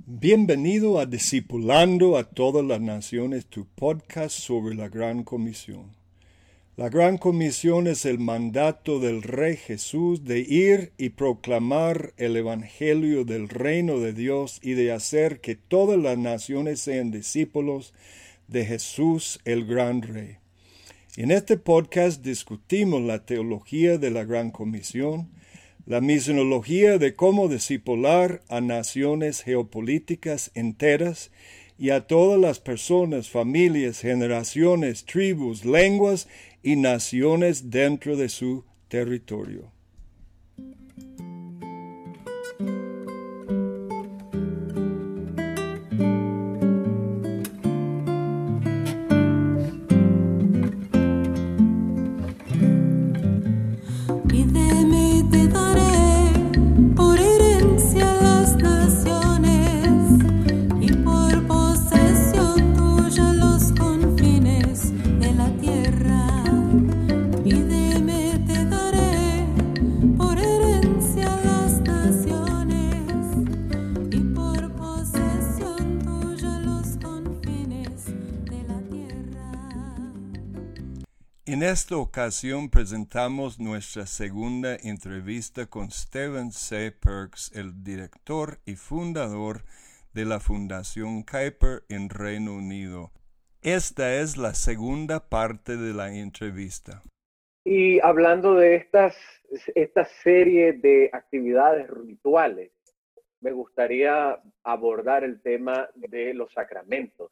Bienvenido a Discipulando a todas las naciones, tu podcast sobre la Gran Comisión. La Gran Comisión es el mandato del Rey Jesús de ir y proclamar el Evangelio del Reino de Dios y de hacer que todas las naciones sean discípulos de Jesús el Gran Rey. En este podcast discutimos la teología de la Gran Comisión, la misionología de cómo discipular a naciones geopolíticas enteras y a todas las personas, familias, generaciones, tribus, lenguas y naciones dentro de su territorio. En esta ocasión presentamos nuestra segunda entrevista con Stephen C. Perks, el director y fundador de la Fundación Kuyper en Reino Unido. Esta es la segunda parte de la entrevista. Y hablando de esta serie de actividades rituales, me gustaría abordar el tema de los sacramentos.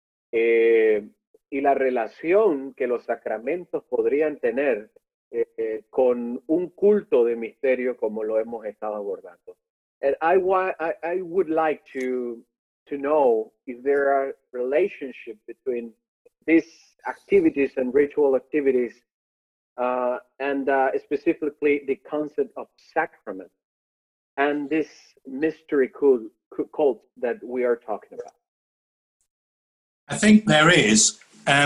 Y la relación que los sacramentos podrían tener con un culto de misterio como lo hemos estado abordando. And I would like to know if there are relationship between these activities and ritual activities and specifically the concept of sacrament and this mystery cult that we are talking about. I think there is.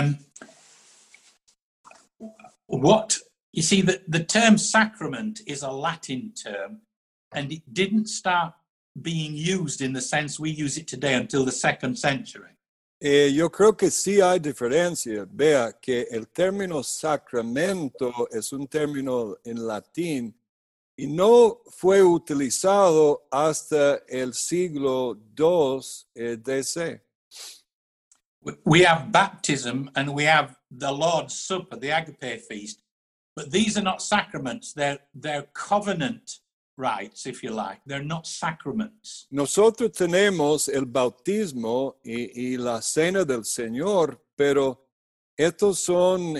The term sacrament is a Latin term, and it didn't start being used in the sense we use it today until the 2nd century. Yo creo que sí hay diferencia. Vea que el término sacramento es un término en latín y no fue utilizado hasta el siglo II DC. We have baptism and we have the Lord's Supper, the Agape feast, but these are not sacraments. They're covenant rites, if you like. They're not sacraments. Nosotros tenemos el bautismo y la cena del Señor, pero estos son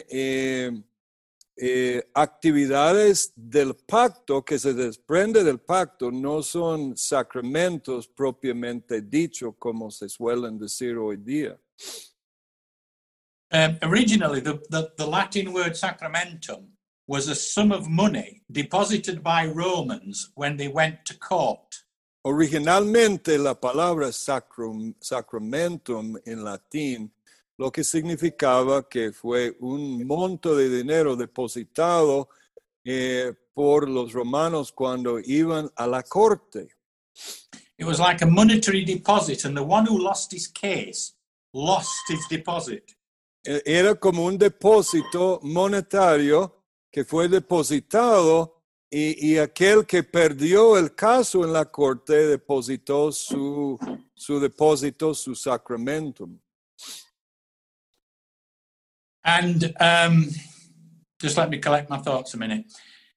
actividades del pacto que se desprende del pacto, no son sacramentos propiamente dicho como se suelen decir hoy día. Originally, the Latin word sacramentum was a sum of money deposited by Romans when they went to court. Originalmente la palabra sacramentum en latín lo que significaba que fue un monto de dinero depositado por los romanos cuando iban a la corte. It was like a monetary deposit, and the one who lost his case lost his deposit. Era como un depósito monetario que fue depositado y aquel que perdió el caso en la corte depositó su depósito, su sacramentum. And just let me collect my thoughts a minute.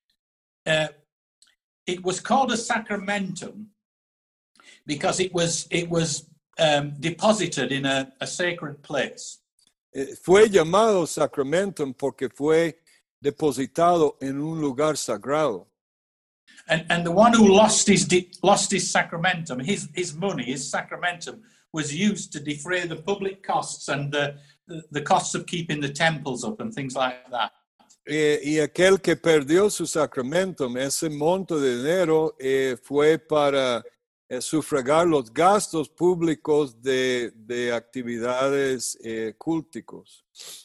It was called a sacramentum because it was deposited in a sacred place. Fue llamado sacramentum porque fue depositado en un lugar sagrado. And the one who lost his sacramentum, his money, his sacramentum, was used to defray the public costs and the costs of keeping the temples up and things like that. Y aquel que perdió su sacramentum, ese monto de dinero fue para sufragar los gastos públicos de actividades culticos.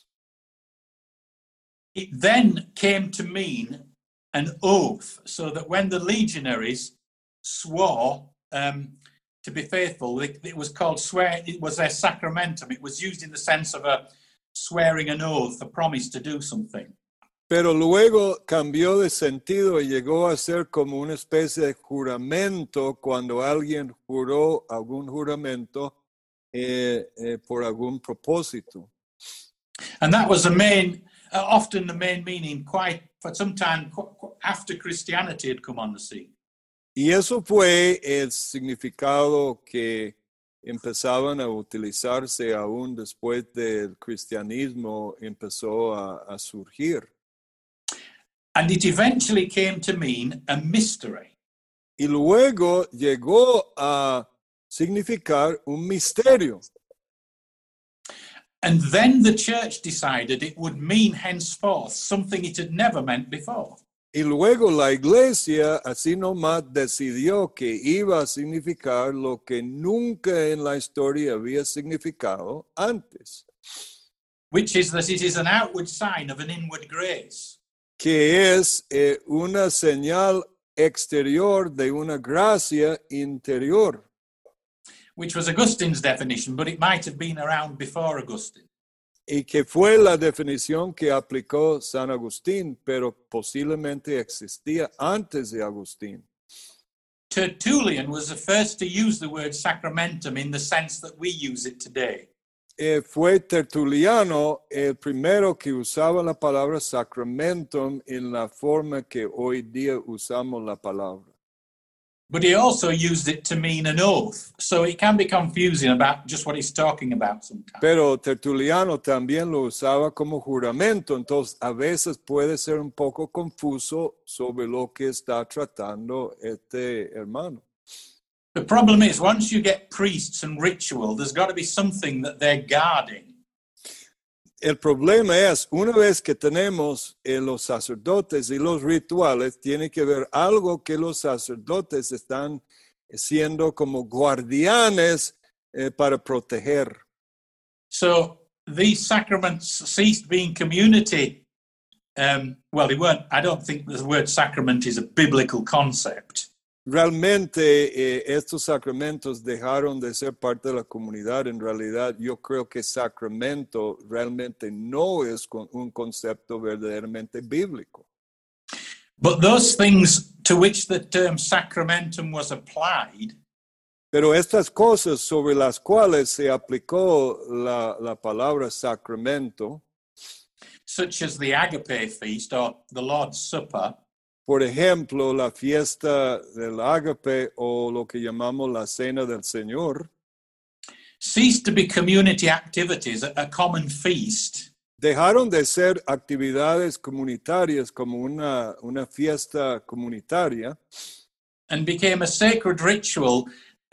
It then came to mean an oath, so that when the legionaries swore to be faithful, it was called swear. It was their sacramentum. It was used in the sense of a swearing an oath, a promise to do something. Pero luego cambió de sentido y llegó a ser como una especie de juramento cuando alguien juró algún juramento por algún propósito. And that was the main, often the main meaning, quite for some time after Christianity had come on the scene. Y eso fue el significado que empezaban a utilizarse aún después del cristianismo empezó a surgir. And it eventually came to mean a mystery. Y luego llegó a significar un misterio. And then the church decided it would mean henceforth something it had never meant before. Y luego la iglesia así nomás decidió que iba a significar lo que nunca en la historia había significado antes. Which is that it is an outward sign of an inward grace. Que es una señal exterior de una gracia interior. Which was Augustine's definition, but it might have been around before Augustine. Y que fue la definición que aplicó San Agustín, pero posiblemente existía antes de Agustín. Tertullian was the first to use the word sacramentum in the sense that we use it today. Fue Tertuliano el primero que usaba la palabra sacramentum en la forma que hoy día usamos la palabra. But he also used it to mean an oath, so it can be confusing about just what he's talking about sometimes. Pero Tertuliano también lo usaba como juramento, entonces a veces puede ser un poco confuso sobre lo que está tratando este hermano. The problem is, once you get priests and ritual, there's got to be something that they're guarding. El problema es, una vez que tenemos los sacerdotes y los rituales, tiene que haber algo que los sacerdotes están siendo como guardianes para proteger. So these sacraments ceased being community. Well, they weren't. I don't think the word sacrament is a biblical concept. Realmente estos sacramentos dejaron de ser parte de la comunidad. En realidad, yo creo que sacramento realmente no es un concepto verdaderamente bíblico. But those things to which the term sacramentum was applied, pero estas cosas sobre las cuales se aplicó la palabra sacramento, such as the Agape feast or the Lord's Supper, por ejemplo, la fiesta del Ágape o lo que llamamos la Cena del Señor, ceased to be community activities, a common feast. Dejaron de ser actividades comunitarias como una fiesta comunitaria. And became a sacred ritual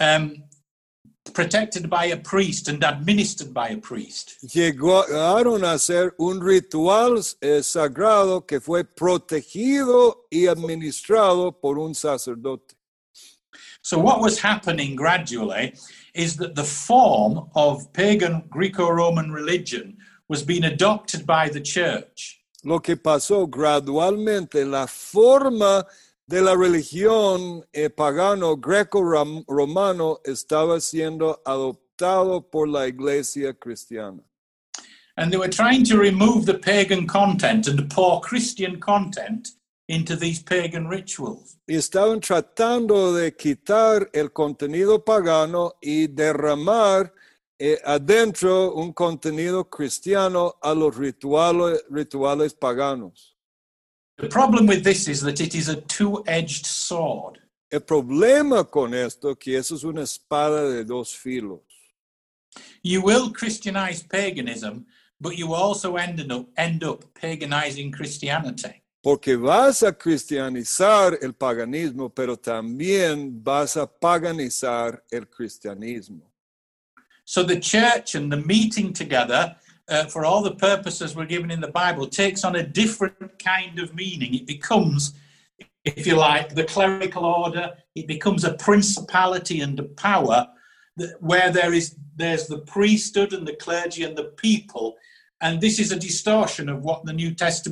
protected by a priest and administered by a priest. Llegaron a ser un ritual sagrado que fue protegido y administrado por un sacerdote. So what was happening gradually is that the form of pagan Greco-Roman religion was being adopted by the church. Lo que pasó gradualmente, la forma de la religión pagano greco-romano estaba siendo adoptado por la iglesia cristiana. And they were trying to remove the pagan content and pour Christian content into these pagan rituals. Y estaban tratando de quitar el contenido pagano y derramar adentro un contenido cristiano a los rituales paganos. The problem with this is that it is a two-edged sword. El problema con esto que eso es una espada de dos filos. You will Christianize paganism, but you also end up paganizing Christianity. Porque vas a cristianizar el paganismo, pero también vas a paganizar el cristianismo. So the church and the meeting together for all the purposes we're given in the Bible takes on a different kind of meaning. It becomes, if you like, the clerical order. It becomes a principality and a power where there's the priesthood and the clergy and the people. And this is a distortion of what the New Testament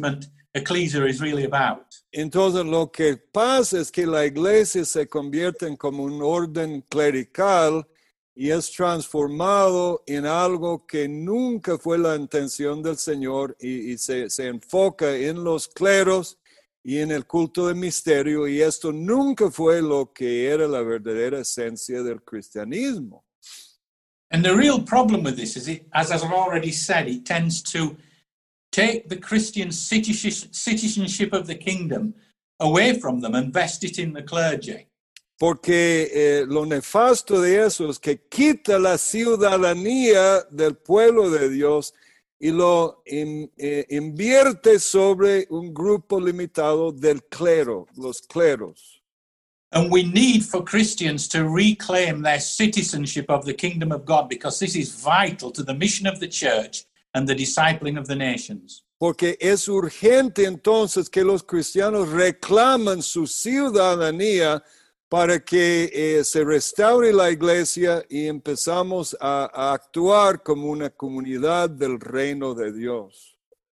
ecclesia is really about. Entonces lo que pasa es que la iglesia se convierte en como un orden clerical y es transformado en algo que nunca fue la intención del Señor y se enfoca en los cleros y en el culto de misterio, y esto nunca fue lo que era la verdadera esencia del cristianismo. And the real problem with this is, as I've already said, it tends to take the Christian citizenship of the kingdom away from them and vest it in the clergy. Porque lo nefasto de eso es que quita la ciudadanía del pueblo de Dios y lo invierte sobre un grupo limitado del clero, los cleros. And we need for Christians to reclaim their citizenship of the kingdom of God, because this is vital to the mission of the church and the discipling of the nations. Porque es urgente entonces que los cristianos reclamen su ciudadanía para que se restaure la iglesia y empezamos a actuar como una comunidad del reino de Dios.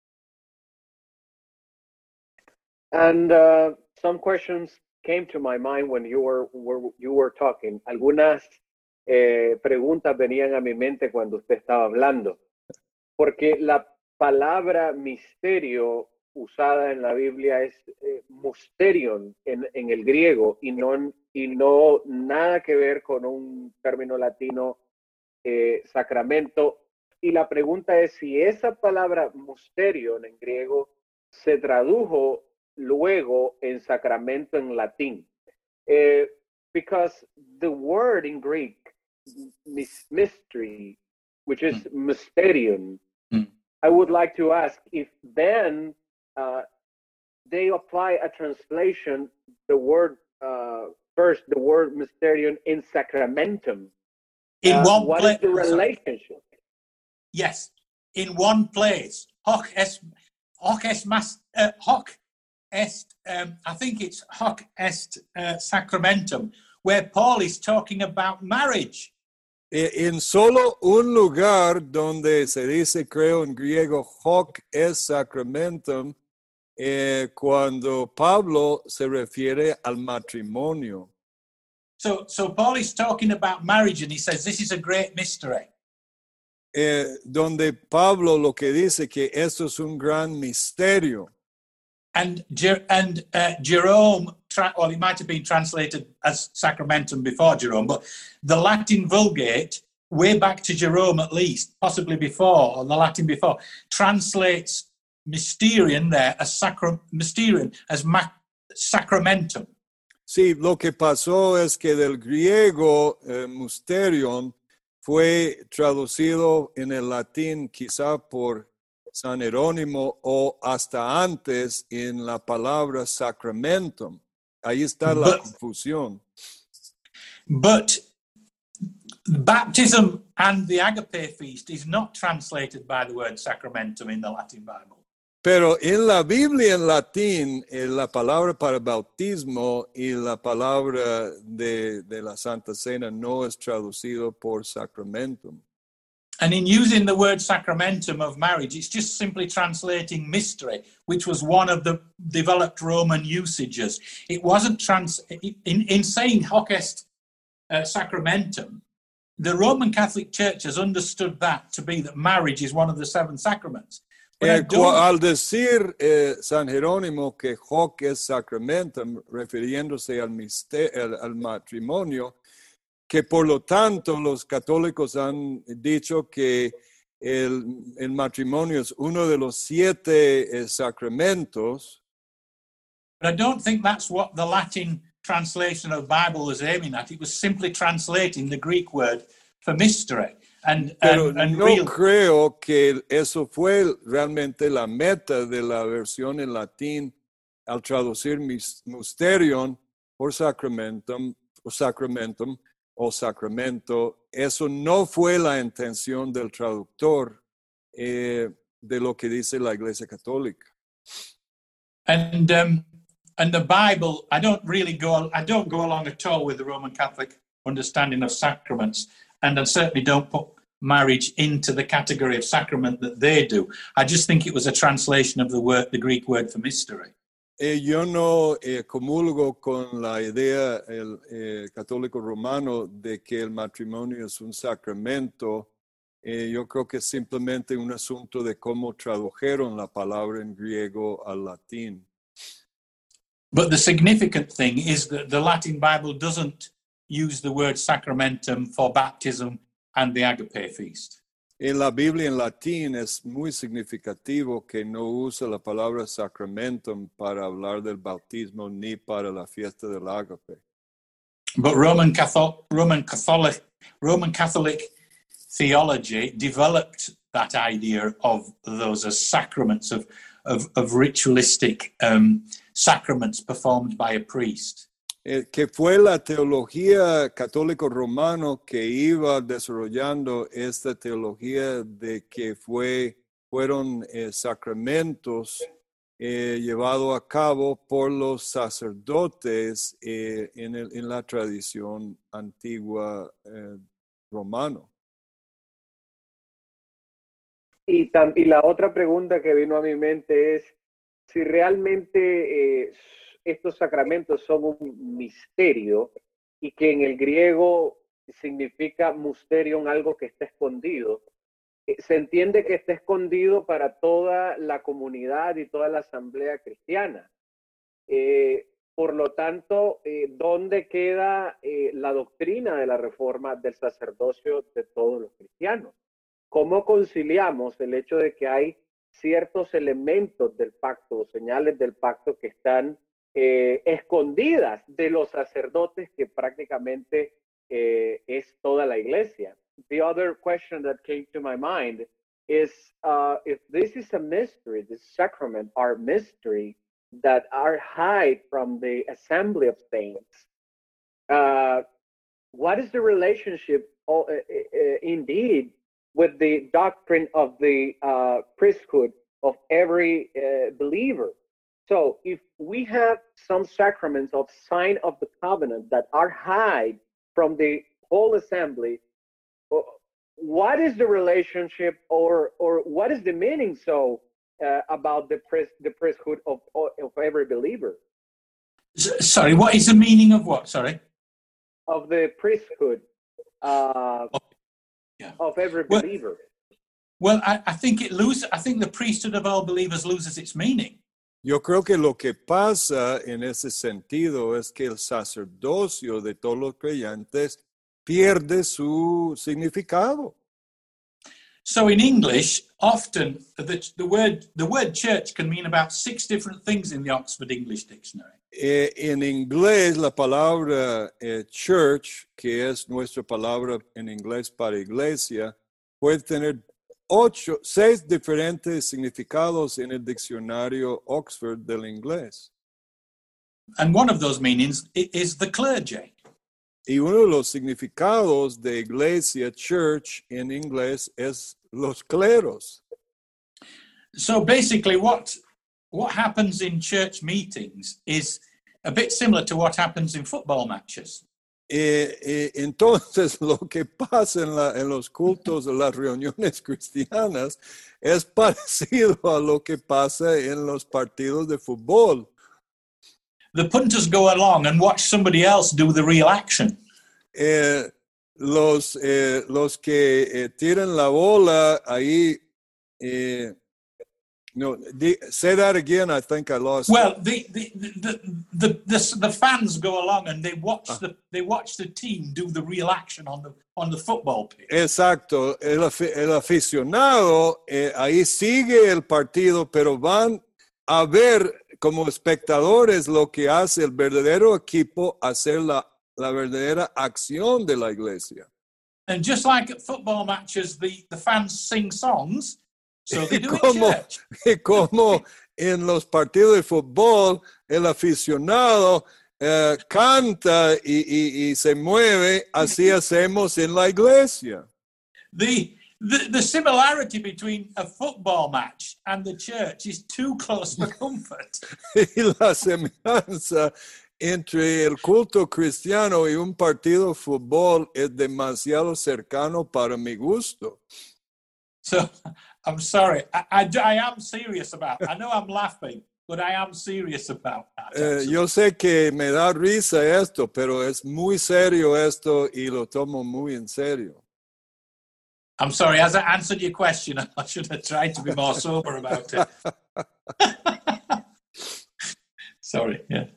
And some questions came to my mind when you were talking. Algunas preguntas venían a mi mente cuando usted estaba hablando. Porque la palabra misterio usada en la Biblia es mysterion en el griego y no nada que ver con un término latino, sacramento. Y la pregunta es si esa palabra mysterion en griego se tradujo luego en sacramento en latín. Because the word in Greek, mystery, which is mysterion, I would like to ask if then they apply a translation, the word first, the word mysterion in sacramentum. In one what place, is the relationship? Yes, in one place. Hoc est, I think it's hoc est sacramentum, where Paul is talking about marriage. En solo un lugar donde se dice, creo en griego, hoc est sacramentum, cuando Pablo se refiere al matrimonio. So Paul is talking about marriage, and he says this is a great mystery. Donde Pablo lo que dice que esto es un gran misterio. And Jerome, well, it might have been translated as sacramentum before Jerome, but the Latin Vulgate, way back to Jerome at least, possibly before, or the Latin before, translates mysterion there as mysterion as sacramentum. Sí, lo que pasó es que del griego mysterion fue traducido en el latín quizá por San Jerónimo o hasta antes en la palabra sacramentum. Ahí está la confusión. But baptism and the agape feast is not translated by the word sacramentum in the Latin Bible. Pero en la Biblia en latín, la palabra para bautismo y la palabra de la Santa Cena no es traducido por sacramentum. And in using the word sacramentum of marriage, it's just simply translating mystery, which was one of the developed Roman usages. It wasn't in saying hoc est sacramentum, the Roman Catholic Church has understood that to be that marriage is one of the seven sacraments. Al decir San Jerónimo que hoc est sacramentum, refiriéndose al matrimonio, que por lo tanto los católicos han dicho que el matrimonio es uno de los 7 sacramentos. But I don't think that's what the Latin translation of the Bible was aiming at. It was simply translating the Greek word for mystery. Pero no creo que eso fue realmente la meta de la versión en latín al traducir mysterion por sacramentum o sacramento. Eso no fue la intención del traductor de lo que dice la Iglesia Católica. And the Bible, I don't go along at all with the Roman Catholic understanding of sacraments, and I certainly don't put marriage into the category of sacrament that they do. I just think it was a translation of the Greek word for mystery. Yo no comulgo con la idea católico romano de que el matrimonio es un sacramento. Yo creo que es simplemente un asunto de cómo tradujeron la palabra en griego al latín. But the significant thing is that the Latin Bible doesn't use the word sacramentum for baptism and the agape feast. En la Biblia en latín es muy significativo que no usa la palabra sacramentum para hablar del bautismo ni para la fiesta del ágape. But Roman Catholic theology developed that idea of those as sacraments of ritualistic sacraments performed by a priest. Que fue la teología católico romano que iba desarrollando esta teología de que fueron sacramentos llevados a cabo por los sacerdotes en la tradición antigua romano. Y la otra pregunta que vino a mi mente es si realmente estos sacramentos son un misterio y que en el griego significa mysterion, algo que está escondido. Se entiende que está escondido para toda la comunidad y toda la asamblea cristiana. Por lo tanto, ¿dónde queda la doctrina de la reforma del sacerdocio de todos los cristianos? ¿Cómo conciliamos el hecho de que hay ciertos elementos del pacto, señales del pacto que están escondidas de los sacerdotes, que prácticamente es toda la iglesia? The other question that came to my mind is if this is a mystery, the sacrament are mystery that are hid from the assembly of saints, what is the relationship indeed with the doctrine of the priesthood of every believer? So if we have some sacraments of sign of the covenant that are hid from the whole assembly, what is the relationship or what is the meaning about the priesthood of every believer? Sorry, what is the meaning of what? Sorry? Of the priesthood of every believer. Well, I think the priesthood of all believers loses its meaning. Yo creo que lo que pasa en ese sentido es que el sacerdocio de todos los creyentes pierde su significado. So in English, often the word church can mean about 6 different things in the Oxford English Dictionary. En inglés, la palabra church, que es nuestra palabra en inglés para iglesia, puede tener 6 diferentes significados en el diccionario Oxford del inglés. And one of those meanings is the clergy. Y uno de los significados de iglesia, church, en inglés es los cleros. So basically what happens in church meetings is a bit similar to what happens in football matches. Entonces, lo que pasa en los cultos, en las reuniones cristianas, es parecido a lo que pasa en los partidos de fútbol. The punters go along and watch somebody else do the real action. Los que tiran la bola ahí. No, say that again. I think I lost. Well, the fans go along and they watch the team do the real action on the football pitch. Exacto. El aficionado ahí sigue el partido, pero van a ver como espectadores lo que hace el verdadero equipo, hacer la verdadera acción de la iglesia. And just like at football matches, the fans sing songs. So they do in church. Y como en los partidos de fútbol, el aficionado canta y se mueve, así hacemos en la iglesia. The similarity between a football match and the church is too close for comfort. Y la semejanza entre el culto cristiano y un partido de fútbol es demasiado cercano para mi gusto. So I'm sorry. I am serious about it. I know I'm laughing, but I am serious about that. Yo sé que me da risa esto, pero es muy serio esto y lo tomo muy en serio. I'm sorry. Has I answered your question? I should have tried to be more sober about it. Sorry. Yeah.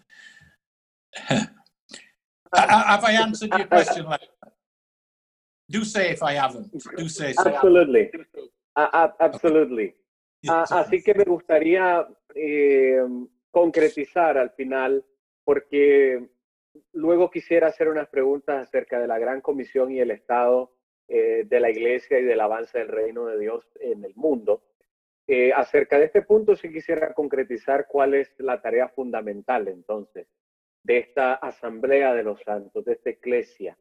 Have I answered your question? Do say if I haven't. Do say so. Absolutely. Absolutely. Así que me gustaría concretizar al final, porque luego quisiera hacer unas preguntas acerca de la Gran Comisión y el estado de la Iglesia y del avance del reino de Dios en el mundo. Acerca de este punto sí quisiera concretizar cuál es la tarea fundamental entonces de esta asamblea de los santos, de esta eclesia,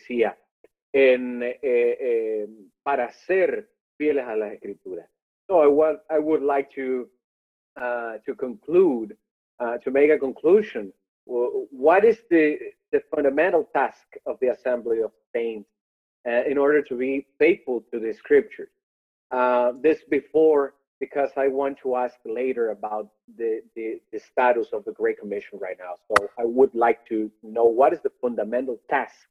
para ser fieles a las Escrituras. So I would like to conclude, to make a conclusion. What is the fundamental task of the Assembly of Saints in order to be faithful to the Scriptures? This before, because I want to ask later about the status of the Great Commission right now. So I would like to know what is the fundamental task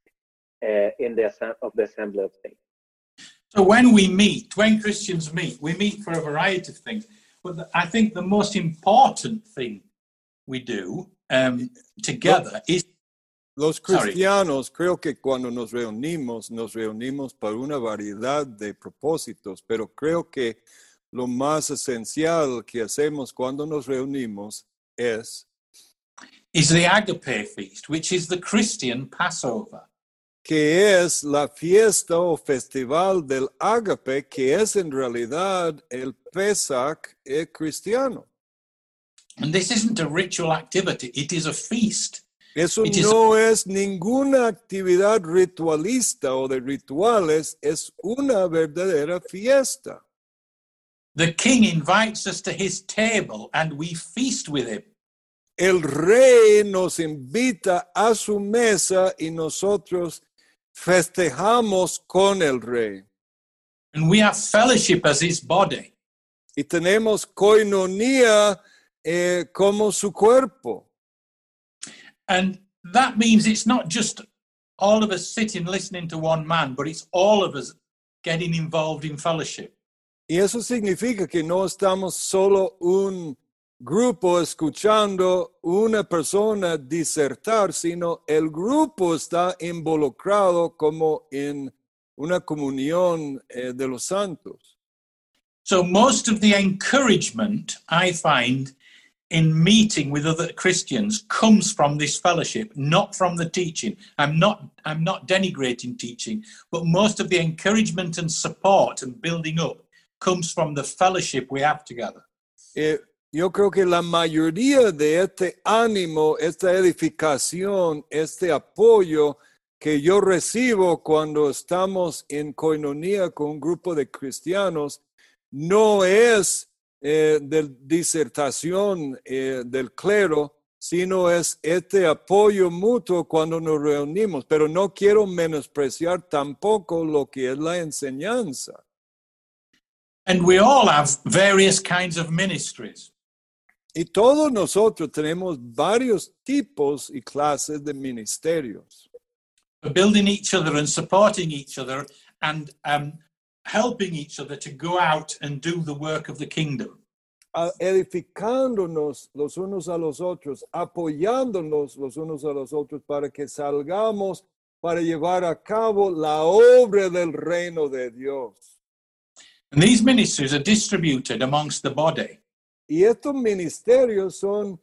of the Assembly of Saints. So when Christians meet, we meet for a variety of things. But I think the most important thing we do together is... Los cristianos, creo que cuando nos reunimos para una variedad de propósitos, pero creo que lo más esencial que hacemos cuando nos reunimos is the Agape Feast, which is the Christian Passover. Que es la fiesta o festival del Ágape, que es en realidad el Pesach cristiano. And this isn't a ritual activity, it is a feast. Eso no es ninguna actividad ritualista o de rituales, es una verdadera fiesta. The king invites us to his table and we feast with him. El rey nos invita a su mesa y nosotros festejamos con el rey. And we have fellowship as his body. Y tenemos koinonia como su cuerpo. And that means it's not just all of us sitting listening to one man, but it's all of us getting involved in fellowship. Y eso significa que no estamos solo un grupo escuchando una persona disertar, sino el grupo está involucrado como en una comunión de los santos. So most of the encouragement I find in meeting with other Christians comes from this fellowship, not from the teaching. I'm not denigrating teaching, but most of the encouragement and support and building up comes from the fellowship we have together. Yo creo que la mayoría de este ánimo, esta edificación, este apoyo que yo recibo cuando estamos en koinonia con un grupo de cristianos no es de disertación del clero, sino es este apoyo mutuo cuando nos reunimos. Pero no quiero menospreciar tampoco lo que es la enseñanza. And we all have various kinds of ministries. Y todos nosotros tenemos varios tipos y clases de ministerios. Building each other and supporting each other and helping each other to go out and do the work of the kingdom. Edificándonos los unos a los otros, apoyándonos los unos a los otros para que salgamos para llevar a cabo la obra del reino de Dios. And these ministries are distributed amongst the body. Y estos ministerios son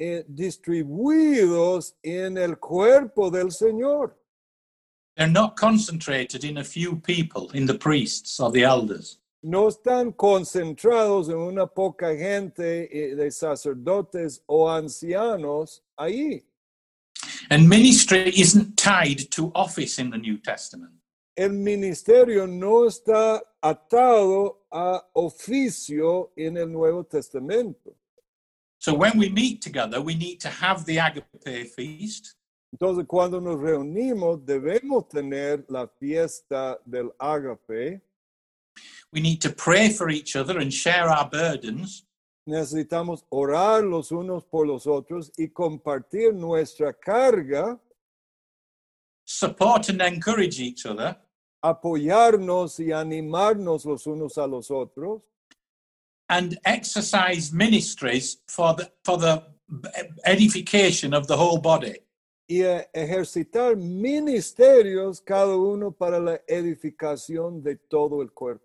distribuidos en el cuerpo del Señor. They're not concentrated in a few people, in the priests or the elders. No están concentrados en una poca gente de sacerdotes o ancianos ahí. And ministry isn't tied to office in the New Testament. El ministerio no está atado a oficio en el Nuevo Testamento. So when we meet together, we need to have the agape feast. Entonces, cuando nos reunimos, debemos tener la fiesta del ágape. We need to pray for each other and share our burdens. Necesitamos orar los unos por los otros y compartir nuestra carga, Support and encourage each other. apoyarnos y animarnos los unos a los otros, And exercise ministries for the edification of the whole body. y ejercitar ministerios cada uno para la edificación de todo el cuerpo.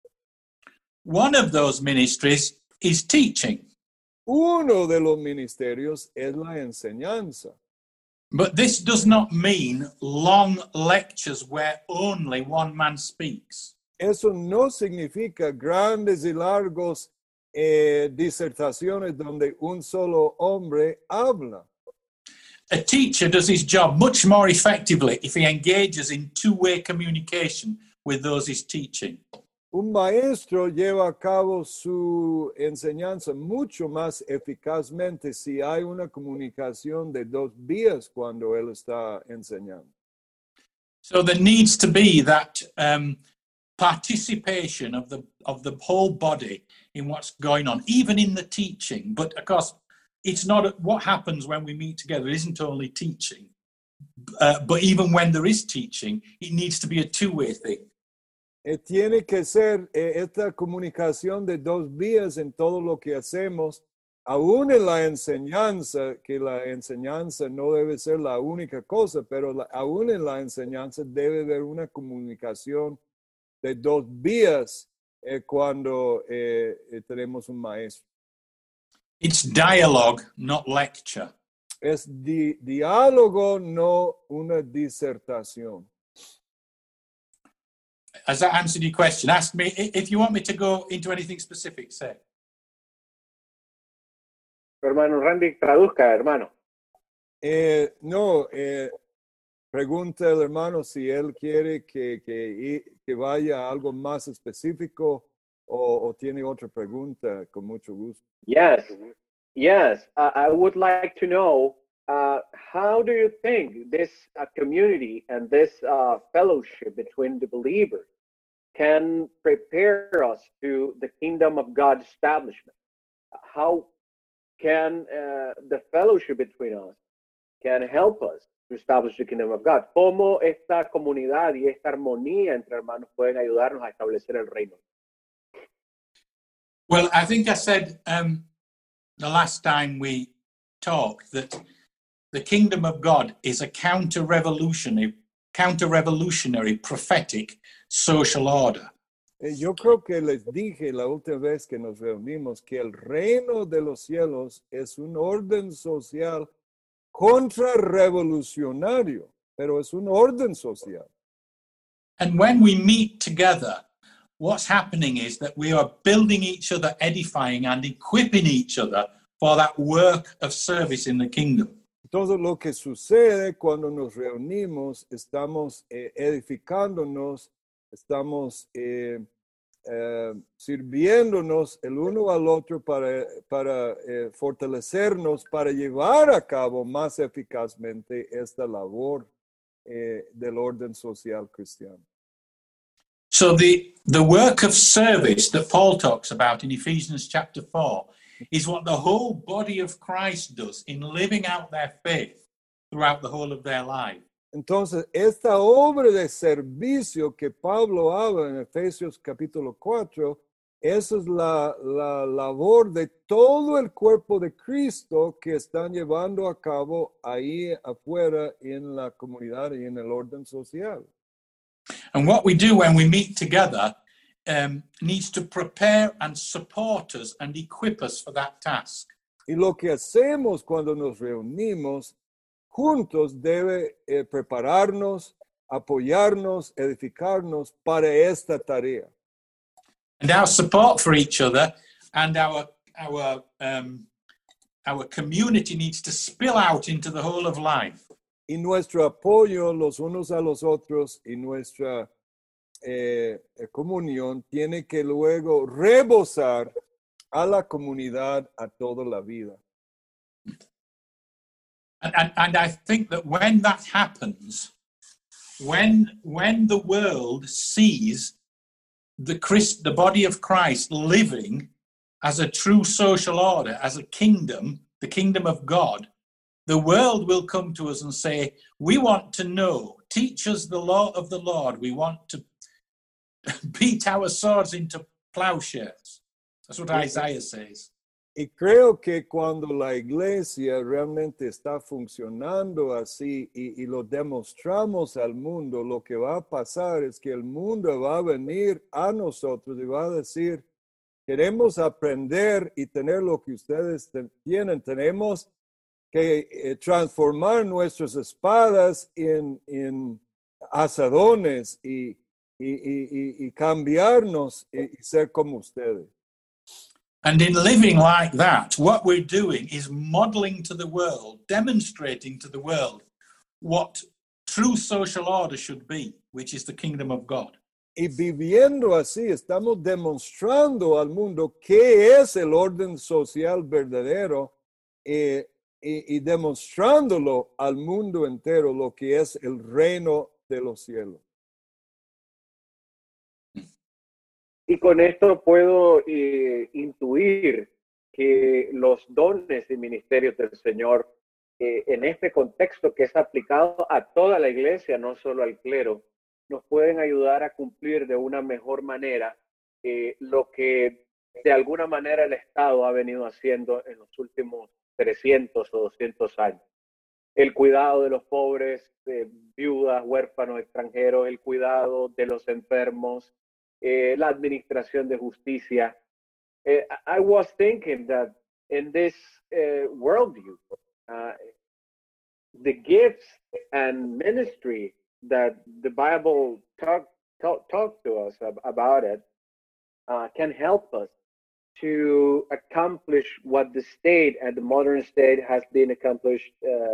One of those ministries is teaching. Uno de los ministerios es la enseñanza. But this does not mean long lectures where only one man speaks. Eso no significa grandes y largos disertaciones donde un solo hombre habla. A teacher does his job much more effectively if he engages in two-way communication with those he's teaching. Un maestro lleva a cabo su enseñanza mucho más eficazmente si hay una comunicación de dos vías cuando él está enseñando. So there needs to be that participation of the whole body in what's going on, even in the teaching. But of course, it's not what happens when we meet together. It isn't only teaching, but even when there is teaching, it needs to be a two-way thing. Tiene que ser esta comunicación de dos vías en todo lo que hacemos, aún en la enseñanza, que la enseñanza no debe ser la única cosa, pero aún en la enseñanza debe haber una comunicación de dos vías cuando tenemos un maestro. It's dialogue, not lecture. Es diálogo, no una disertación. Has that answered your question? Ask me if you want me to go into anything specific, say. Hermano Randy, traduzca, hermano. No, pregunta el hermano si él quiere que vaya a algo más específico o tiene otra pregunta, con mucho gusto. Yes. I would like to know, how do you think this community and this fellowship between the believers can prepare us to the kingdom of God establishment? How can the fellowship between us can help us to establish the kingdom of God? ¿Cómo esta comunidad y esta armonía entre hermanos pueden ayudarnos a establecer el reino? Well, I think I said the last time we talked that the kingdom of God is a counter-revolutionary, prophetic social order. Yo creo que les dije la última vez que nos reunimos que el reino de los cielos es un orden social contrarrevolucionario, pero es un orden social. And when we meet together, what's happening is that we are building each other, edifying and equipping each other for that work of service in the kingdom. Entonces, lo que sucede cuando nos reunimos, estamos edificándonos, estamos sirviéndonos el uno al otro para fortalecernos, para llevar a cabo más eficazmente esta labor del orden social cristiano. So the work of service that Paul talks about in Ephesians chapter 4 is what the whole body of Christ does in living out their faith throughout the whole of their life. Entonces, esta obra de servicio que Pablo habla en Efesios capítulo 4, esa es la labor de todo el cuerpo de Cristo que están llevando a cabo ahí afuera en la comunidad y en el orden social. And what we do when we meet together needs to prepare and support us and equip us for that task. Y lo que hacemos cuando nos reunimos juntos debe prepararnos, apoyarnos, edificarnos para esta tarea. And our support for each other and our community needs to spill out into the whole of life. Y nuestro apoyo los unos a los otros y nuestra comunión tiene que luego rebosar a la comunidad, a toda la vida. And I think that when that happens, when the world sees the body of Christ living as a true social order, as a kingdom, the kingdom of God, the world will come to us and say, we want to know, teach us the law of the Lord. We want to beat our swords into plowshares. That's what Isaiah says. Y creo que cuando la iglesia realmente está funcionando así y lo demostramos al mundo, lo que va a pasar es que el mundo va a venir a nosotros y va a decir, queremos aprender y tener lo que ustedes tienen. Tenemos que transformar nuestras espadas en asadones y cambiarnos y ser como ustedes. And in living like that, what we're doing is modeling to the world, demonstrating to the world what true social order should be, which is the kingdom of God. Y viviendo así, estamos demostrando al mundo qué es el orden social verdadero y demostrándolo al mundo entero lo que es el reino de los cielos. Y con esto puedo intuir que los dones y ministerios del Señor, en este contexto que es aplicado a toda la iglesia, no solo al clero, nos pueden ayudar a cumplir de una mejor manera lo que de alguna manera el Estado ha venido haciendo en los últimos 300 o 200 años. El cuidado de los pobres, viudas, huérfanos, extranjeros, el cuidado de los enfermos, la administración de justicia. I was thinking that in this worldview, the gifts and ministry that the Bible talk to us about it can help us to accomplish what the state and the modern state has been accomplished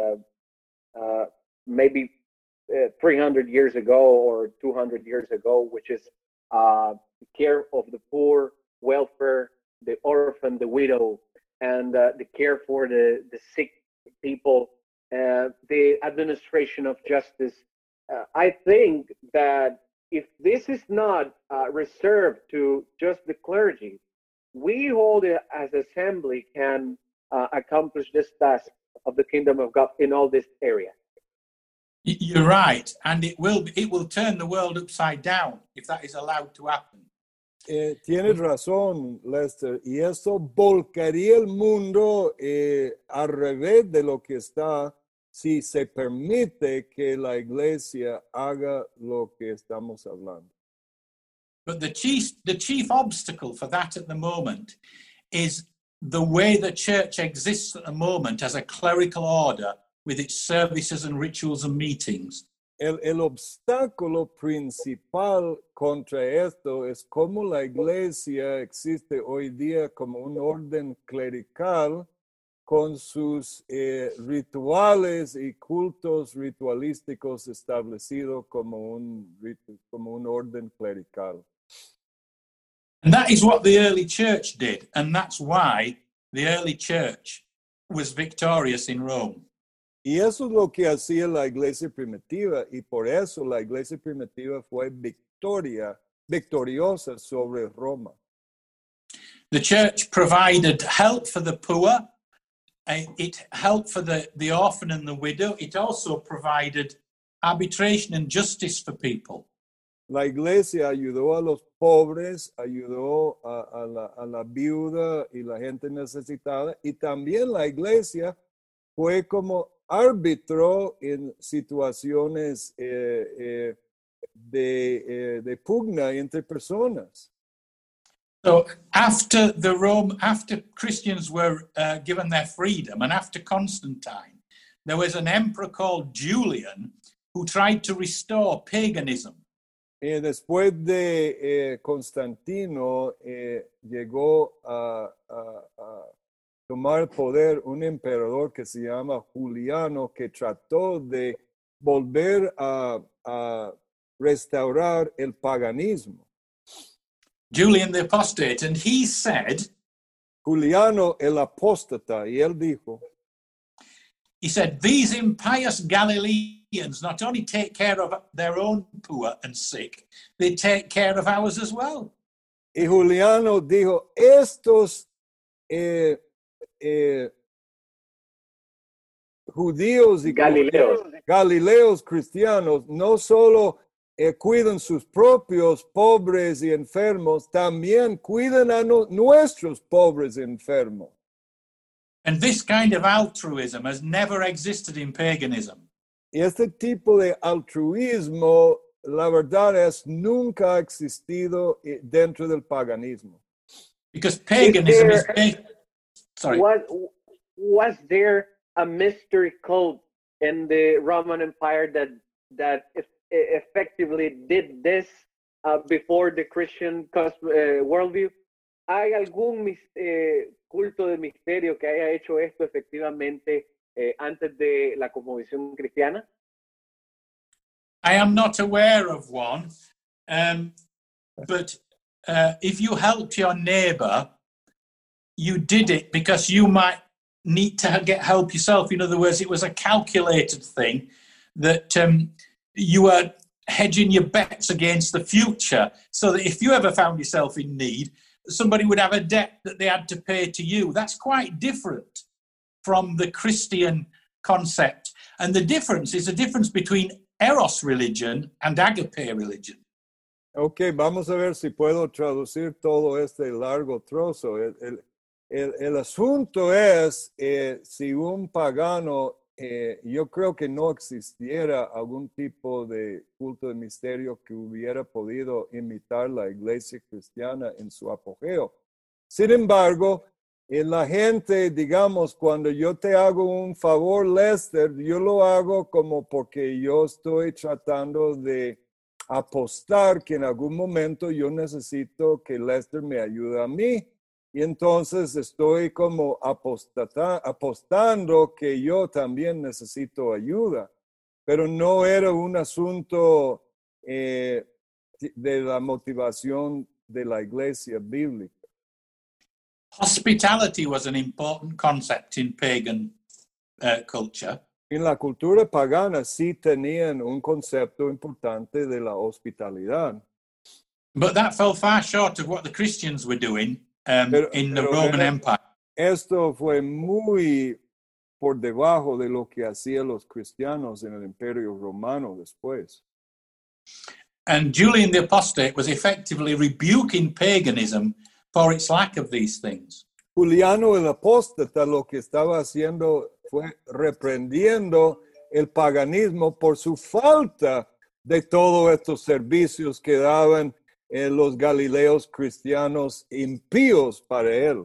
maybe 300 years ago or 200 years ago, which is care of the poor, welfare, the orphan, the widow, and the care for the sick people, the administration of justice. I think that if this is not reserved to just the clergy, we hold it as assembly can accomplish this task of the kingdom of God in all this area. You're right, and it will turn the world upside down if that is allowed to happen. Tienes razón, Lester, y esto volcaría el mundo al revés de lo que está si se permite que la iglesia haga lo que estamos hablando. But the chief obstacle for that at the moment is the way the church exists at the moment as a clerical order with its services and rituals and meetings. El obstáculo principal contra esto es cómo la iglesia existe hoy día como un orden clerical con sus rituales y cultos ritualísticos establecidos como un orden clerical. And that is what the early church did, and that's why the early church was victorious in Rome. Y eso es lo que hacía la iglesia primitiva, y por eso la iglesia primitiva fue victoriosa sobre Roma. The church provided help for the poor, it helped for the orphan and the widow, it also provided arbitration and justice for people. La iglesia ayudó a los pobres, ayudó a la viuda y la gente necesitada, y también la iglesia fue como árbitro en situaciones de pugna entre personas. So after Christians were given their freedom, and after Constantine, there was an emperor called Julian who tried to restore paganism. Después de Constantino llegó a tomar el poder un emperador que se llama Juliano, que trató de volver a restaurar el paganismo. Julian the Apostate, and he said, Juliano el apóstata, y él dijo, he said, these impious Galileans not only take care of their own poor and sick, they take care of ours as well. Y Juliano dijo, estos judíos y Galileos cristianos no solo cuidan sus propios pobres y enfermos, también cuidan a nuestros pobres y enfermos. And this kind of altruism has never existed in paganism. Y este tipo de altruismo, la verdad es, nunca ha existido dentro del paganismo. Because paganism is based... Sorry. Was there a mystery cult in the Roman Empire that effectively did this before the Christian worldview? ¿Hay algún culto de misterio que haya hecho esto efectivamente antes de la cosmovisión cristiana? I am not aware of one, but if you helped your neighbor, you did it because you might need to get help yourself. In other words, it was a calculated thing that you were hedging your bets against the future, so that if you ever found yourself in need, somebody would have a debt that they had to pay to you. That's quite different from the Christian concept. And the difference is a difference between Eros religion and agape religion. Ok, vamos a ver si puedo traducir todo este largo trozo. El asunto es, si un pagano, yo creo que no existiera algún tipo de culto de misterio que hubiera podido imitar la iglesia cristiana en su apogeo. Sin embargo, la gente, digamos, cuando yo te hago un favor, Lester, yo lo hago como porque yo estoy tratando de apostar que en algún momento yo necesito que Lester me ayude a mí. Y entonces estoy como apostando que yo también necesito ayuda. Pero no era un asunto de la motivación de la iglesia bíblica. Hospitality was an important concept in pagan culture. En la cultura pagana sí tenían un concepto importante de la hospitalidad. But that fell far short of what the Christians were doing in the Roman Empire. Esto fue muy por debajo de lo que hacían los cristianos en el Imperio Romano después. And Julian the Apostate was effectively rebuking paganism for its lack of these things. Juliano el Apóstata lo que estaba haciendo fue reprendiendo el paganismo por su falta de todos estos servicios que daban los galileos cristianos impíos para él.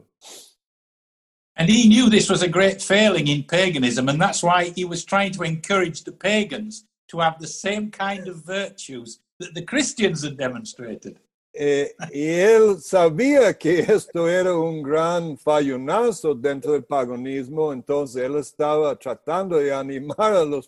And he knew this was a great failing in paganism, and that's why he was trying to encourage the pagans to have the same kind of virtues that the Christians had demonstrated. Y él sabía que esto era un gran fallonazo dentro del paganismo, entonces él estaba tratando de animar a los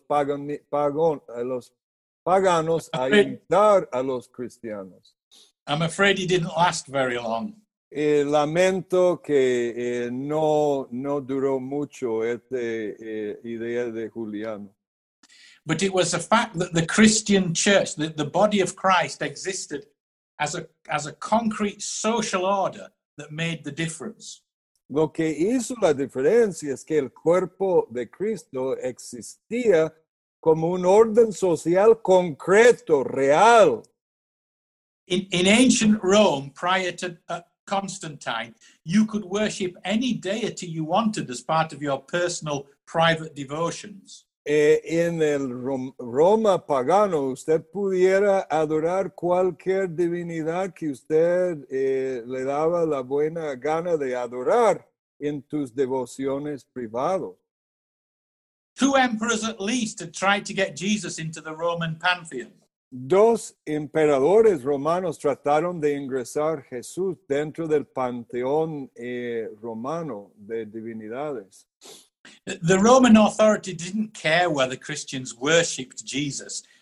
paganos a imitar a los cristianos. I'm afraid he didn't last very long. Lamento que no duró mucho esta idea de Juliano. But it was the fact that the Christian church, the body of Christ, existed as a concrete social order that made the difference. Lo que hizo la diferencia es que el cuerpo de Cristo existía como un orden social concreto, real. In ancient Rome, prior to Constantine, you could worship any deity you wanted as part of your personal private devotions. En el Roma pagano, usted pudiera adorar cualquier divinidad que usted le daba la buena gana de adorar en tus devociones privadas. 2 emperors at least had tried to get Jesus into the Roman pantheon. 2 emperadores romanos trataron de ingresar Jesús dentro del panteón romano de divinidades. The Roman authority didn't care whether Christians worshipped Jesus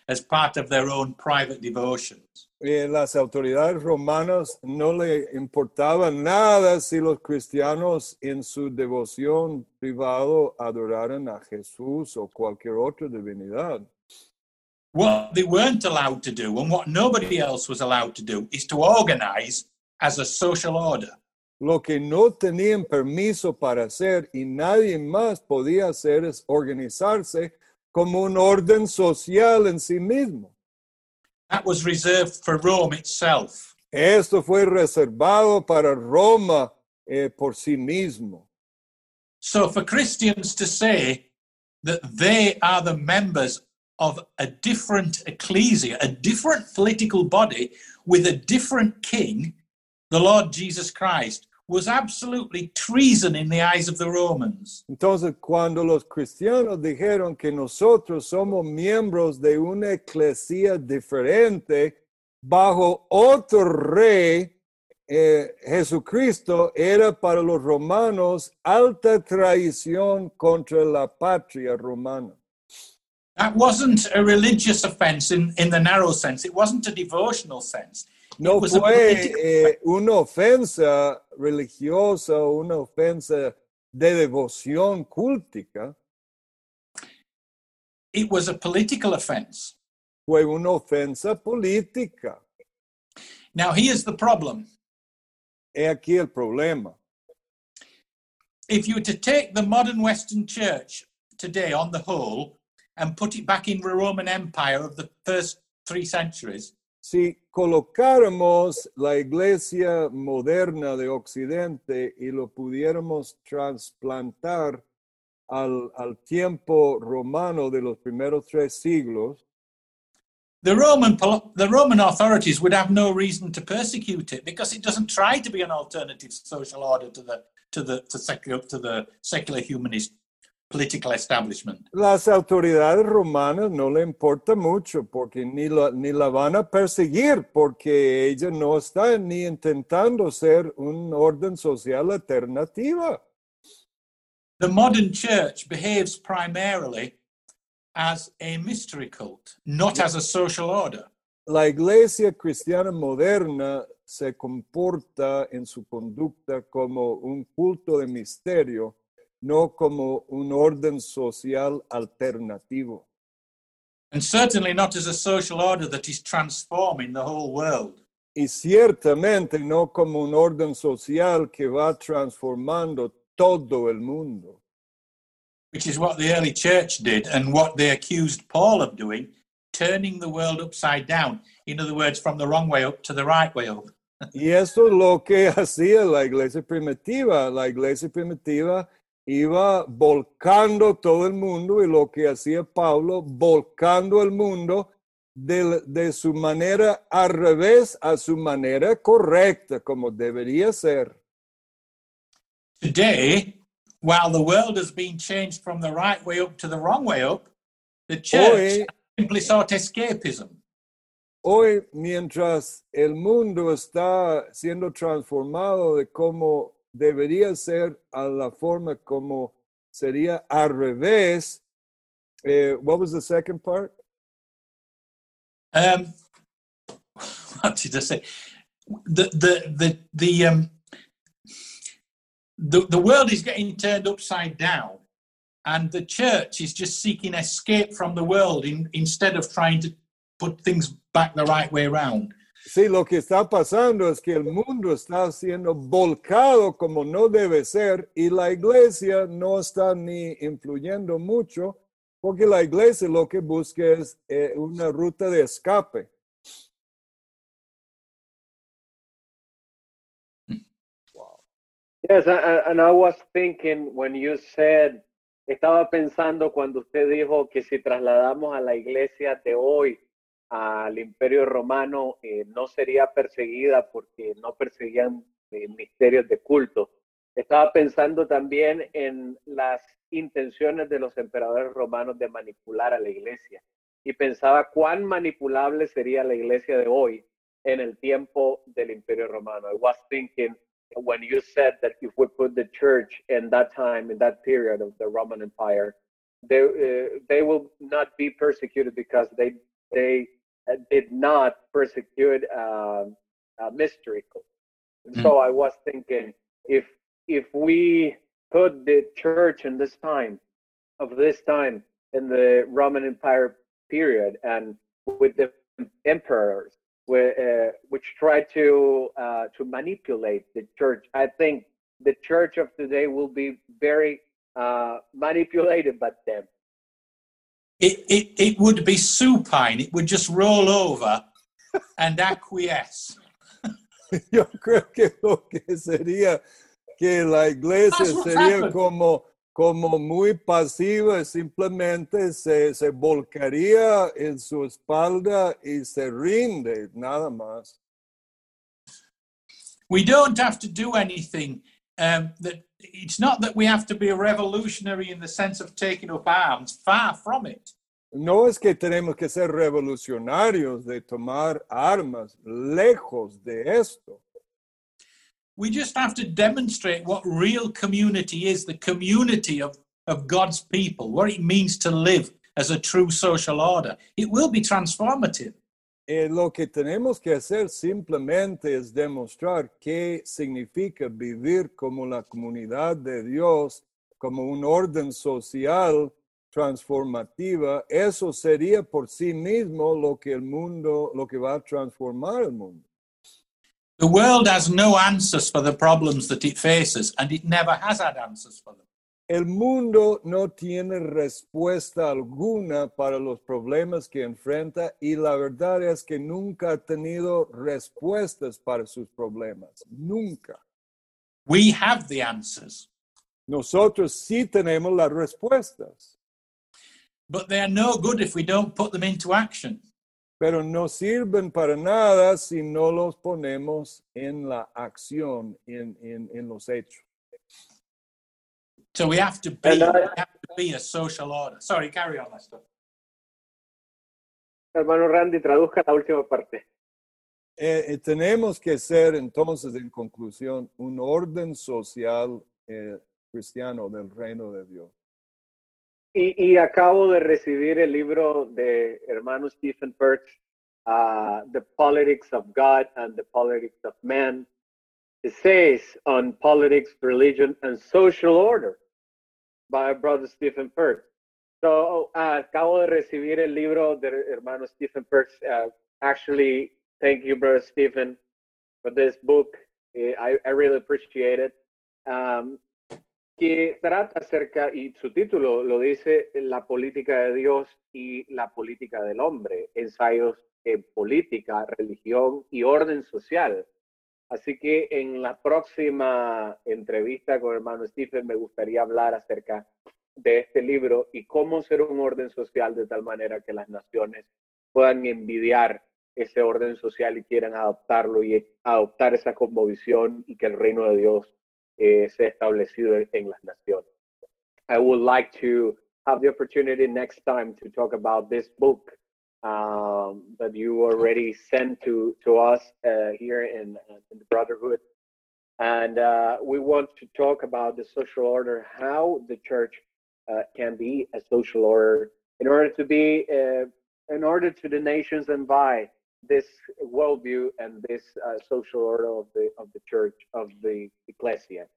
as part of their own private devotions. Las autoridades romanas no le importaba nada si los cristianos en su devoción privado adoraran a Jesús o cualquier otra divinidad. What they weren't allowed to do, and what nobody else was allowed to do, is to organize as a social order. Lo que no tenían permiso para hacer y nadie más podía hacer es organizarse como un orden social en sí mismo. That was reserved for Rome itself. Esto fue reservado para Roma por sí mismo. So for Christians to say that they are the members of a different ecclesia, a different political body with a different king, the Lord Jesus Christ, was absolutely treason in the eyes of the Romans. Entonces, cuando los cristianos dijeron que nosotros somos miembros de una eclesia diferente bajo otro rey, Jesucristo era para los romanos alta traición contra la patria romana. That wasn't a religious offense in the narrow sense. It wasn't a devotional sense. No It was a fue political una ofensa religiosa o una ofensa de devoción cultica, It was a political offense. fue una ofensa política. Now, here's the problem. He aquí el problema. If you were to take the modern Western church today on the whole and put it back in the Roman Empire of the first 3 centuries, Si colocáramos la iglesia moderna de Occidente y lo pudiéramos trasplantar al tiempo romano de los primeros 3 siglos, the Roman authorities would have no reason to persecute it because it doesn't try to be an alternative social order to the secular humanist political establishment. las autoridades romanas no le importa mucho porque ni la van a perseguir porque ella no está ni intentando ser un orden social alternativa. The modern church behaves primarily as a mystery cult, not as a social order. La iglesia cristiana moderna se comporta en su conducta como un culto de misterio, no como un orden social alternativo. And certainly not as a social order that is transforming the whole world. Y ciertamente no como un orden social que va transformando todo el mundo. Which is what the early church did and what they accused Paul of doing, turning the world upside down. In other words, from the wrong way up to the right way up. Y eso es lo que hacía la iglesia primitiva. La iglesia primitiva iba volcando todo el mundo y lo que hacía Pablo, volcando el mundo de su manera al revés a su manera correcta, como debería ser. Today, while the world has been changed from the right way up to the wrong way up, the church simply sought escapism. Hoy, mientras el mundo está siendo transformado de cómo debería ser a la forma como sería al revés, what was the second part? What did I say? The world is getting turned upside down, and the church is just seeking escape from the world instead of trying to put things back the right way around. Sí, lo que está pasando es que el mundo está siendo volcado como no debe ser y la iglesia no está ni influyendo mucho porque la iglesia lo que busca es una ruta de escape. Yes, and I was thinking when you said, estaba pensando cuando usted dijo que si trasladamos a la iglesia de hoy al Imperio Romano, no sería perseguida porque no perseguían misterios de culto. Estaba pensando también en las intenciones de los emperadores romanos de manipular a la iglesia y pensaba cuán manipulable sería la iglesia de hoy en el tiempo del Imperio Romano. I was thinking when you said that if we put the church in that time, in that period of the Roman Empire, they will not be persecuted because they did not persecute mystery cults. So I was thinking, if we put the church in this time in the Roman Empire period, and with the emperors, which tried to manipulate the church, I think the church of today will be very manipulated by them. It would be supine. It would just roll over and acquiesce. Yo creo que lo que sería que la iglesia sería como muy pasiva, simplemente se volcaría en su espalda y se rinde, nada más. We don't have to do anything. That it's not that we have to be a revolutionary in the sense of taking up arms. Far from it. No es que tenemos que ser revolucionarios de tomar armas, lejos de esto. We just have to demonstrate what real community is, the community of God's people, what it means to live as a true social order. It will be transformative. Lo que tenemos que hacer simplemente es demostrar qué significa vivir como la comunidad de Dios, como un orden social transformativa. Eso sería por sí mismo lo que va a transformar el mundo. The world has no answers for the problems that it faces, and it never has had answers for them. El mundo no tiene respuesta alguna para los problemas que enfrenta, y la verdad es que nunca ha tenido respuestas para sus problemas. Nunca. We have the answers. Nosotros sí tenemos las respuestas. But they are no good if we don't put them into action. Pero no sirven para nada si no los ponemos en la acción, en los hechos. So we have to be a social order. Sorry, carry on, Lester. Hermano Randy, traduzca la última parte. Tenemos que ser entonces, en conclusión, un orden social cristiano del reino de Dios. Y acabo de recibir el libro de hermano Stephen Perks, The Politics of God and the Politics of Man, Essays on Politics, Religion, and Social Order, by brother Stephen Perks. So, acabo de recibir el libro de hermano Stephen Perks. Actually, thank you, brother Stephen, for this book. I really appreciate it. Que trata acerca, y su título lo dice, la política de Dios y la política del hombre, ensayos en política, religión y orden social. Así que en la próxima entrevista con hermano Stephen me gustaría hablar acerca de este libro y cómo ser un orden social de tal manera que las naciones puedan envidiar ese orden social y quieran adoptarlo y adoptar esa cosmovisión y que el reino de Dios sea establecido en las naciones. I would like to have the opportunity next time to talk about this book that you already sent to us here in the Brotherhood. And we want to talk about the social order, how the church can be a social order in order to be, in order to the nations invite this worldview and this social order of the church, of the ecclesia.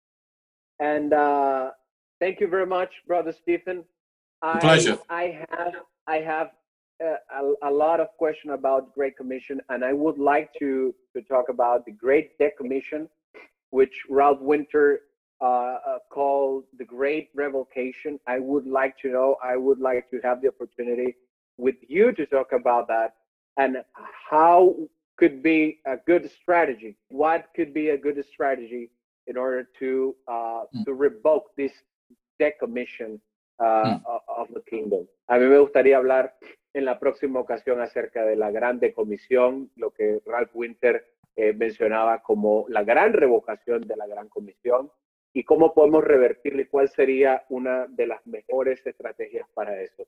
And thank you very much, brother Stephen. Pleasure. I have a lot of questions about Great Commission, and I would like to talk about the Great Decommission, which Ralph Winter called the Great Revocation. I would like to have the opportunity with you to talk about that, and how could be a good strategy. What could be a good strategy in order to revoke this decommission of the kingdom? A mí me gustaría hablar en la próxima ocasión acerca de la gran decomisión, lo que Ralph Winter mencionaba como la gran revocación de la gran comisión, y cómo podemos revertirlo y cuál sería una de las mejores estrategias para eso.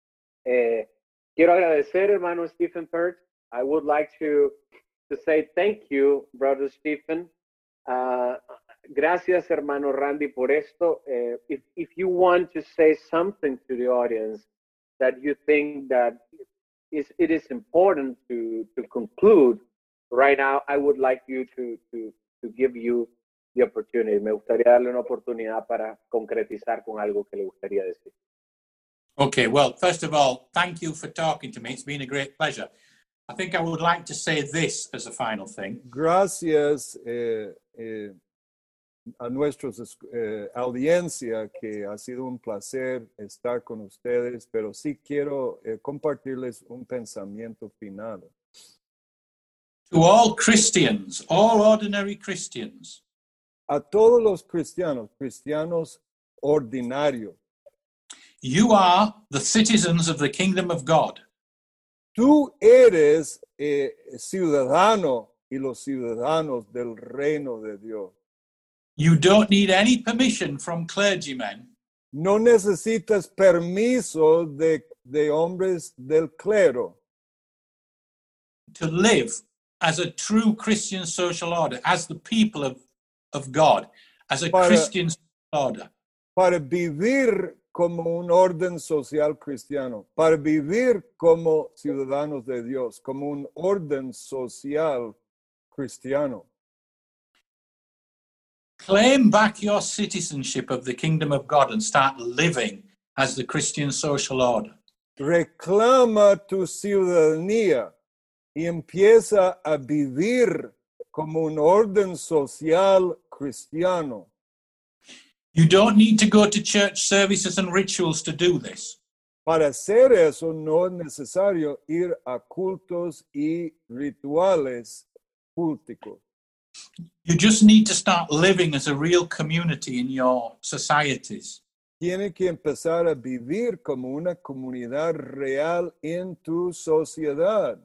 Quiero agradecer, hermano Stephen Perks. I would like to say thank you, brother Stephen. Gracias, hermano Randy, por esto. If you want to say something to the audience that you think that it is important to conclude right now. I would like you to give you the opportunity. Me gustaría darle una oportunidad para concretizar con algo que le gustaría decir. Okay, well, first of all, thank you for talking to me. It's been a great pleasure. I think I would like to say this as a final thing. Gracias a nuestros audiencia, que ha sido un placer estar con ustedes, pero sí quiero compartirles un pensamiento final. To all Christians, all ordinary Christians, A todos los cristianos ordinarios, you are the citizens of the kingdom of God. tú eres ciudadano y los ciudadanos del reino de Dios. You don't need any permission from clergymen No necesitas permiso de hombres del clero to live as a true Christian social order, as the people of God, as a Christian social order. para vivir como un orden social cristiano, para vivir como ciudadanos de Dios, como un orden social cristiano. Claim back your citizenship of the kingdom of God and start living as the Christian social order. Reclama tu ciudadanía y empieza a vivir como un orden social cristiano. You don't need to go to church services and rituals to do this. Para hacer eso no es necesario ir a cultos y rituales culticos. You just need to start living as a real community in your societies. Tiene que empezar a vivir como una comunidad real en tu sociedad.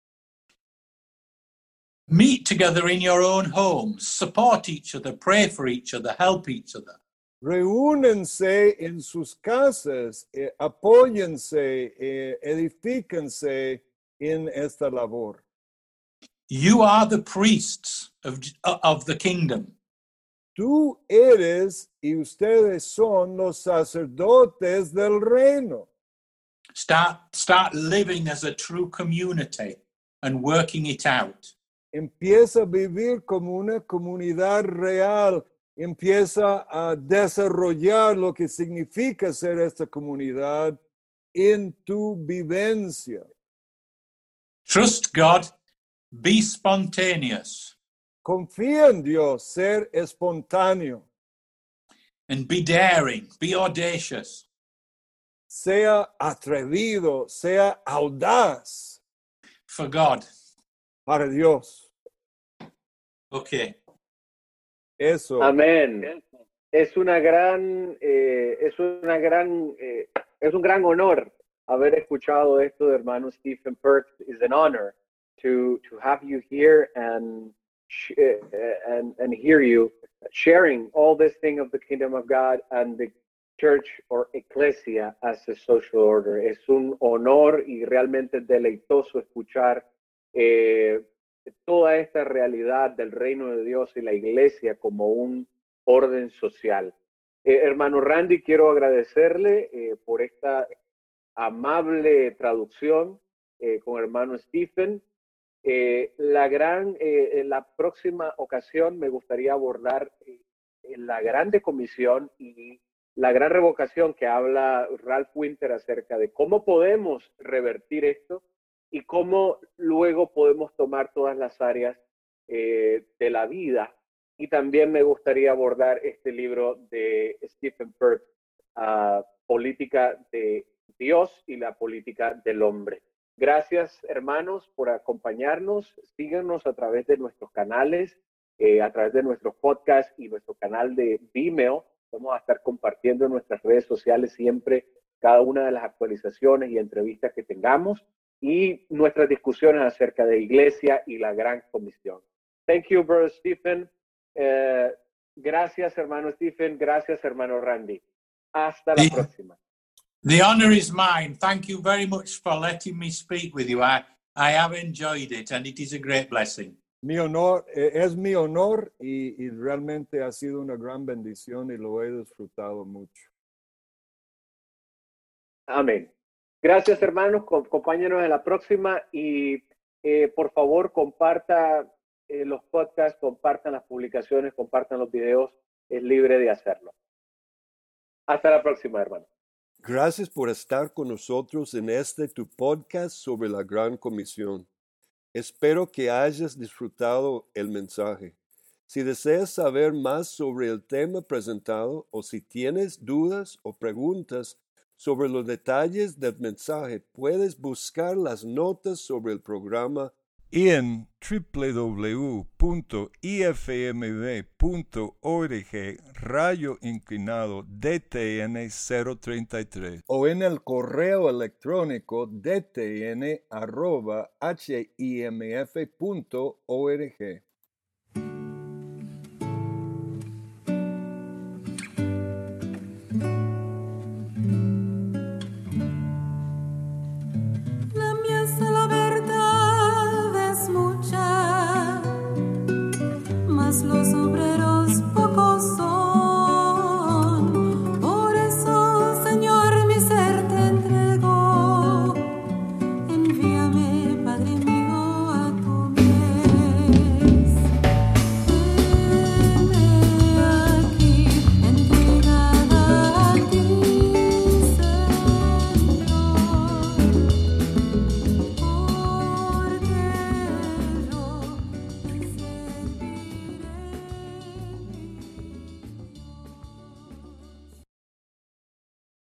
Meet together in your own homes, support each other, pray for each other, help each other. Reúnense en sus casas, apóyense, edifíquense en esta labor. You are the priests of the kingdom. Tú eres y ustedes son los sacerdotes del reino. Start living as a true community and working it out. Empieza a vivir como una comunidad real. Empieza a desarrollar lo que significa ser esta comunidad en tu vivencia. Trust God, be spontaneous, Confía en Dios, ser espontáneo. and be daring, be audacious. Sea atrevido, sea audaz For God. para Dios. Okay. Eso. Amén. Es un gran honor haber escuchado esto de hermano Stephen Perks. It's an honor to have you here and hear you sharing all this thing of the kingdom of God and the church or ecclesia as a social order. Es un honor y realmente deleitoso escuchar toda esta realidad del reino de Dios y la iglesia como un orden social. Hermano Randy, quiero agradecerle por esta amable traducción con hermano Stephen. La próxima ocasión me gustaría abordar la grande comisión y la gran revocación que habla Ralph Winter acerca de cómo podemos revertir esto y cómo luego podemos tomar todas las áreas de la vida. Y también me gustaría abordar este libro de Stephen Perks, Política de Dios y la Política del Hombre. Gracias, hermanos, por acompañarnos. Síganos a través de nuestros canales, a través de nuestros podcasts y nuestro canal de Vimeo. Vamos a estar compartiendo en nuestras redes sociales siempre cada una de las actualizaciones y entrevistas que tengamos y nuestras discusiones acerca de iglesia y la gran comisión. Thank you, Brother Stephen. Gracias, hermano Stephen. Gracias, hermano Randy. Hasta la próxima. The honor is mine. Thank you very much for letting me speak with you. I have enjoyed it and it is a great blessing. Mi honor, es mi honor y realmente ha sido una gran bendición y lo he disfrutado mucho. Amén. Gracias, hermanos. Acompáñenos en la próxima y por favor comparta los podcasts, compartan las publicaciones, compartan los videos. Es libre de hacerlo. Hasta la próxima, hermano. Gracias por estar con nosotros en este tu podcast sobre la Gran Comisión. Espero que hayas disfrutado el mensaje. Si deseas saber más sobre el tema presentado o si tienes dudas o preguntas sobre los detalles del mensaje, puedes buscar las notas sobre el programa en www.ifmb.org/DTN 033 o en el correo electrónico dtn@himf.org. Los obreros